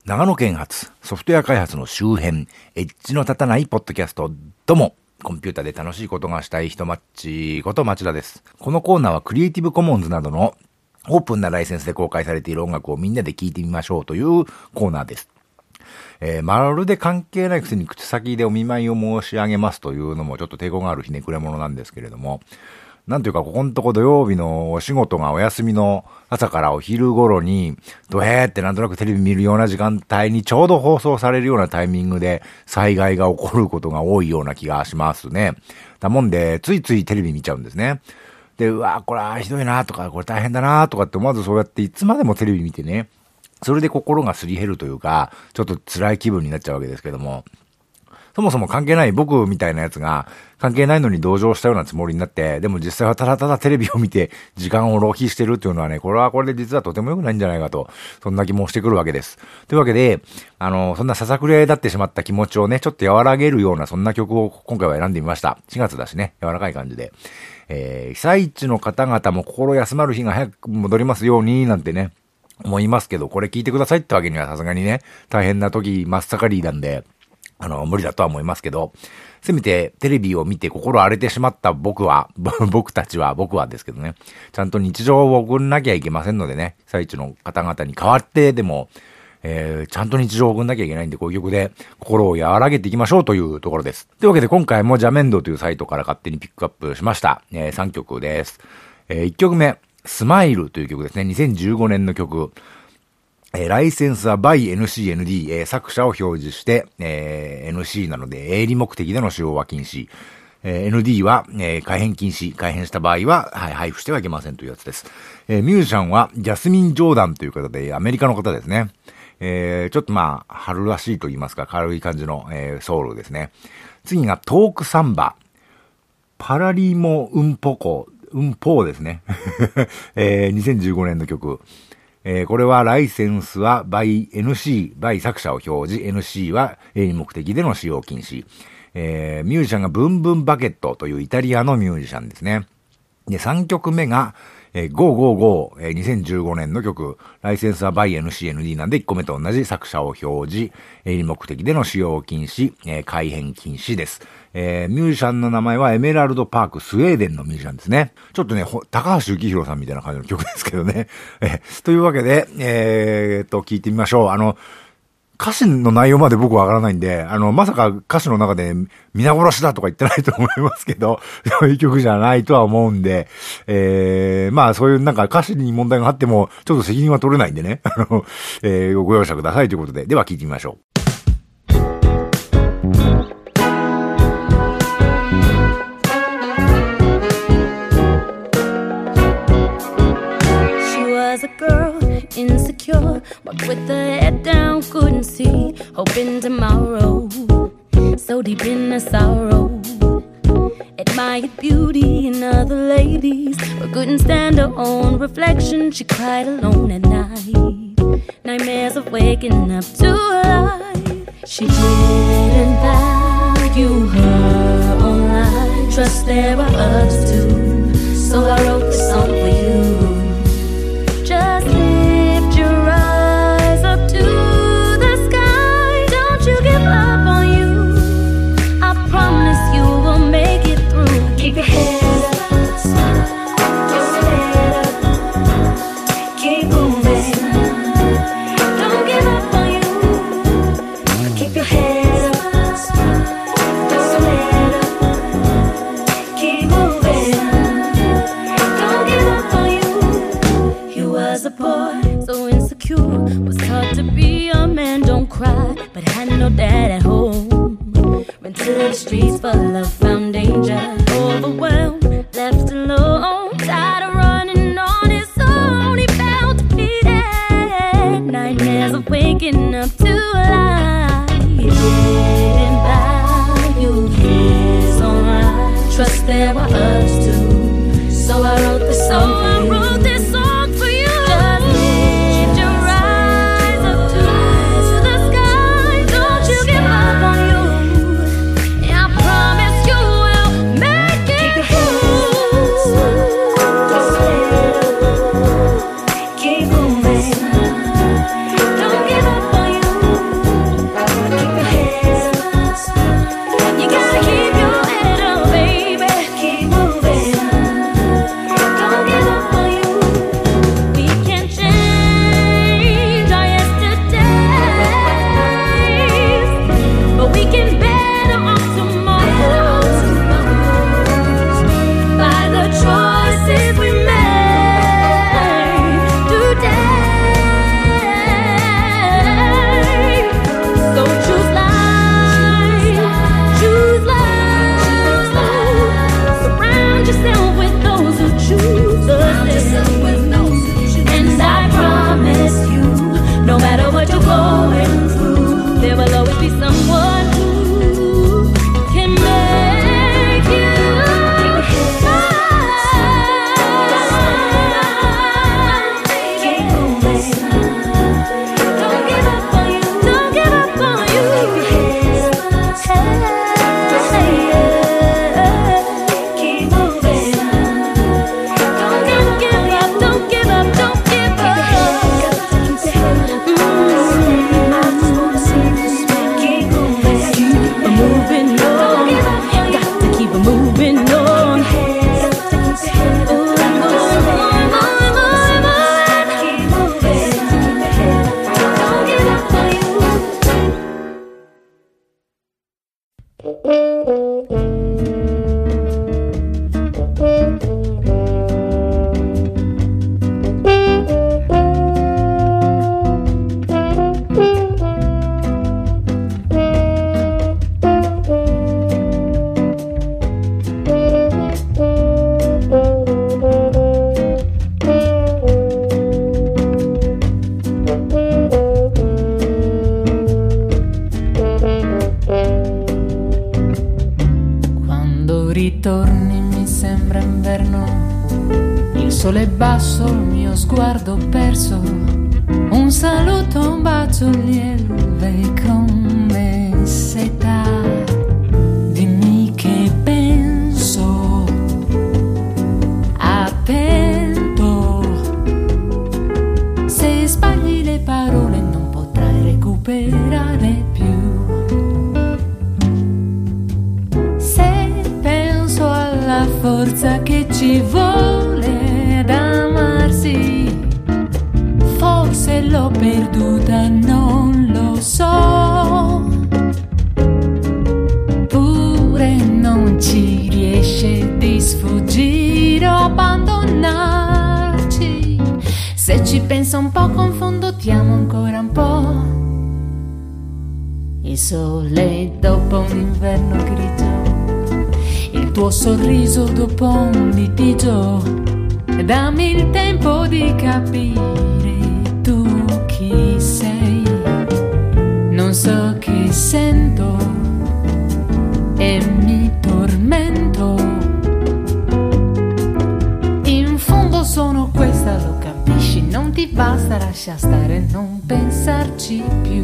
長野県発ソフトウェア開発の周辺、エッジの立たないポッドキャスト。どうも、コンピュータで楽しいことがしたい人マッチこと町田です。このコーナーはクリエイティブコモンズなどのオープンなライセンスで公開されている音楽をみんなで聴いてみましょうというコーナーです。まるで関係ないくせに口先でお見舞いを申し上げますというのもちょっと抵抗があるひねくれ者なんですけれども、なんというかここのとこ土曜日のお仕事がお休みの朝からお昼頃にドヘーってなんとなくテレビ見るような時間帯にちょうど放送されるようなタイミングで災害が起こることが多いような気がしますね。だもんでついついテレビ見ちゃうんですね。で、うわこれはひどいなとかこれ大変だなとかって思わずそうやっていつまでもテレビ見てね、それで心がすり減るというかちょっと辛い気分になっちゃうわけですけども、そもそも関係ない僕みたいなやつが関係ないのに同情したようなつもりになって、でも実際はただただテレビを見て時間を浪費してるっていうのはね、これはこれで実はとても良くないんじゃないかと、そんな気もしてくるわけです。というわけで、そんなささくれ立ってしまった気持ちをね、ちょっと和らげるようなそんな曲を今回は選んでみました。4月だしね、柔らかい感じで。被災地の方々も心休まる日が早く戻りますようになんてね、思いますけど、これ聞いてくださいってわけにはさすがにね、大変な時真っ盛りなんで、無理だとは思いますけど、せめてテレビを見て心荒れてしまった僕はですけどね、ちゃんと日常を送んなきゃいけませんのでね、被災地の方々に代わってでも、ちゃんと日常を送んなきゃいけないんで、こういう曲で心を和らげていきましょうというところです。というわけで今回もジャメンドというサイトから勝手にピックアップしました。3曲です。1曲目、スマイルという曲ですね。2015年の曲。ライセンスは by NCND、作者を表示して、NC なので営利目的での使用は禁止。ND は、改変禁止。改変した場合は、配布してはいけませんというやつです。ミュージシャンはジャスミン・ジョーダンという方で、アメリカの方ですね。ちょっと春らしいと言いますか、軽い感じの、ソウルですね。次がトークサンバ。パラリモ・ウンポーですね。2015年の曲。これはライセンスは by NC、by 作者を表示、NC は営利目的での使用禁止。ミュージシャンがブンブンバケットというイタリアのミュージシャンですね。で、3曲目が、GoGoGo、2015年の曲、ライセンスは by NCND なんで1個目と同じ作者を表示、営利目的での使用禁止、改変禁止です。ミュージシャンの名前はエメラルドパーク、スウェーデンのミュージシャンですね。ちょっとね、高橋幸宏さんみたいな感じの曲ですけどね。というわけで、聞いてみましょう。歌詞の内容まで僕わからないんで、まさか歌詞の中で皆殺しだとか言ってないと思いますけど、そういう曲じゃないとは思うんで、そういうなんか歌詞に問題があっても、ちょっと責任は取れないんでね、ご容赦くださいということで、では聞いてみましょう。 Insecure, walked with her head down, couldn't see hope in tomorrow, so deep in her sorrow. Admired beauty in other ladies, but couldn't stand her own reflection. She cried alone at night, nightmares of waking up to life. She didn't value her own life, trust there were others too, so I wrote this song for you. Just lift your eyes up to the sky. Don't you give up on you. I promise you will make it through. Keep your head up, just head up. Keep moving. Don't give up on you. Keep your head up, just head up. Keep moving. Don't give up on you. He was a boy, so insecure, was taught to be a man, don't cry, but had no dad at home. Went to the streets for love, found danger, overwhelmed, left alone, tired of running on his own. He felt defeated, nightmares of waking up to life. He didn't value his own life, trust there were others too, so I wrote this song for you. Don't give up on you. sole basso, il mio sguardo perso, un saluto, un bacio lieve come seta. Dimmi che penso, attento, se sbagli le parole non potrai recuperare più. Se penso alla forza che ci vuole ad amarsi, forse l'ho perduta, non lo so. Pure non ci riesce di sfuggire o abbandonarci. Se ci penso un po' confondo, ti amo ancora un po'. Il sole dopo un inverno grigio, il tuo sorriso dopo un litigio. Dammi il tempo di capire tu chi sei. Non so che sento e mi tormento. In fondo sono questa, lo capisci? Non ti basta, lascia stare, non pensarci più.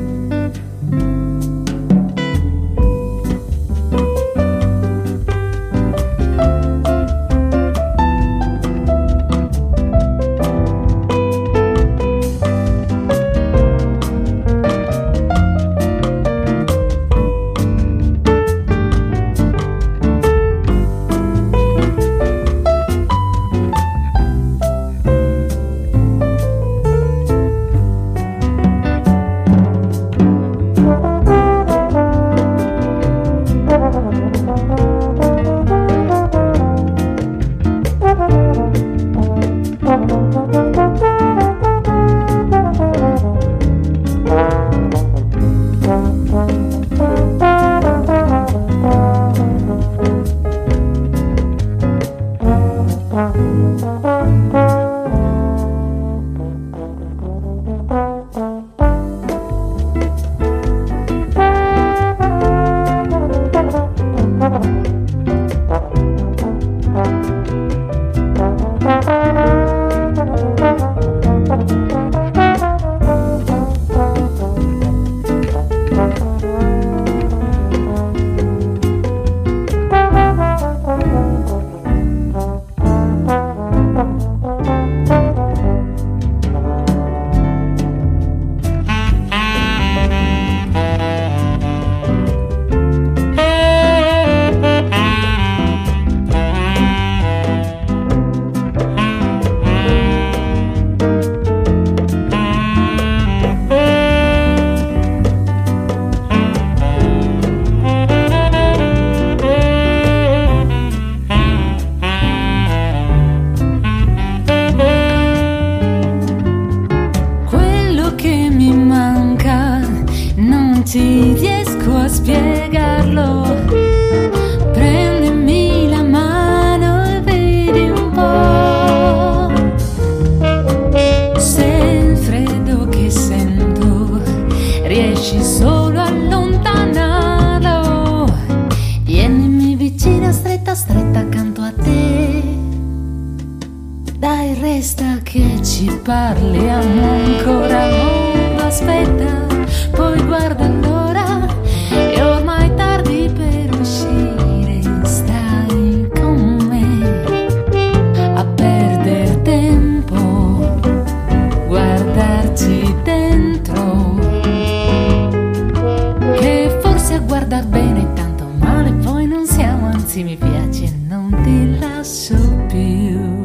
Ti riesco a spiegarlo. Prendimi la mano e vedi un po'. Se il freddo che sento riesci solo a allontanarlo, tienimi vicina, stretta stretta accanto a te. Dai, resta che ci parliamo ancora. Mondo aspetta, poi guarda l'ora, è ormai tardi per uscire. Stai con me a perdere tempo, guardarci dentro, che forse a guardar bene tanto male poi non siamo. Anzi mi piace e non ti lascio più.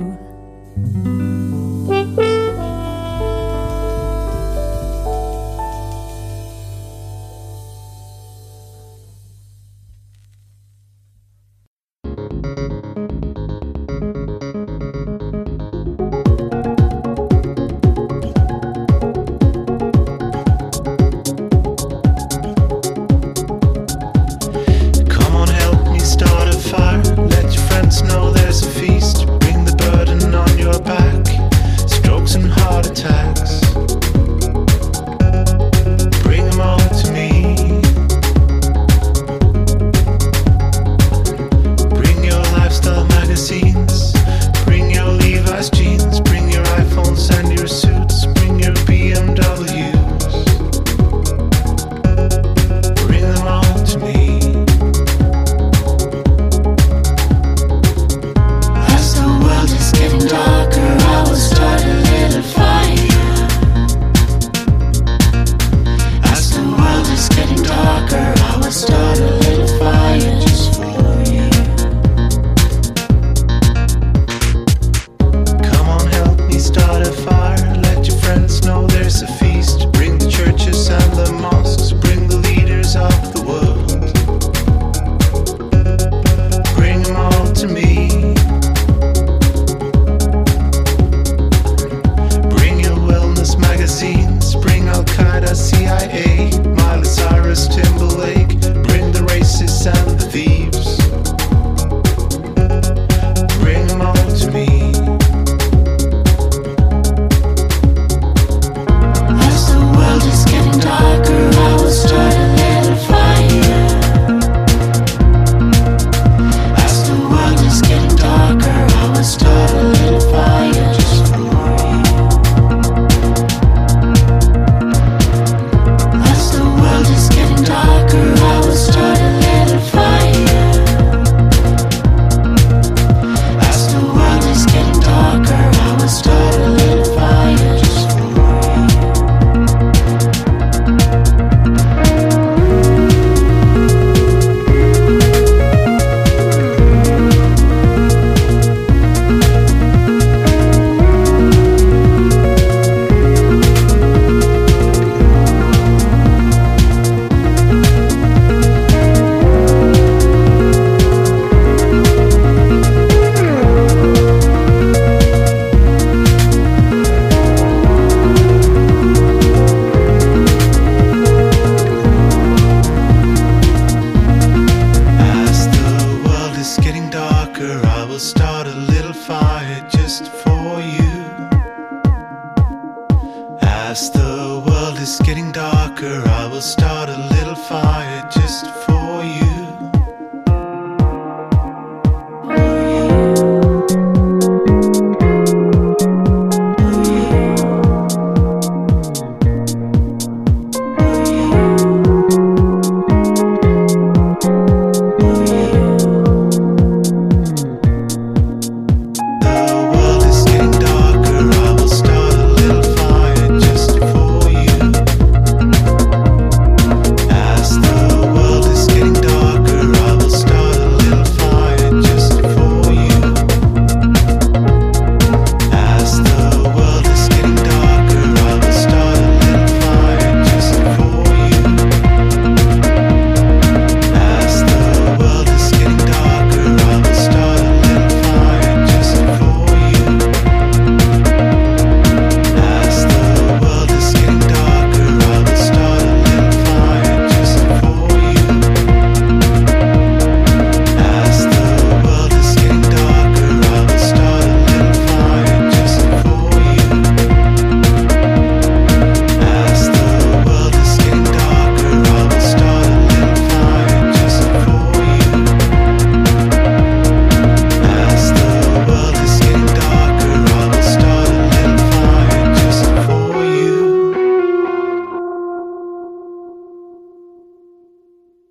darker, I will start a little fire just for you.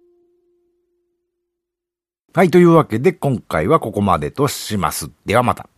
はい、というわけで今回はここまでとします。ではまた。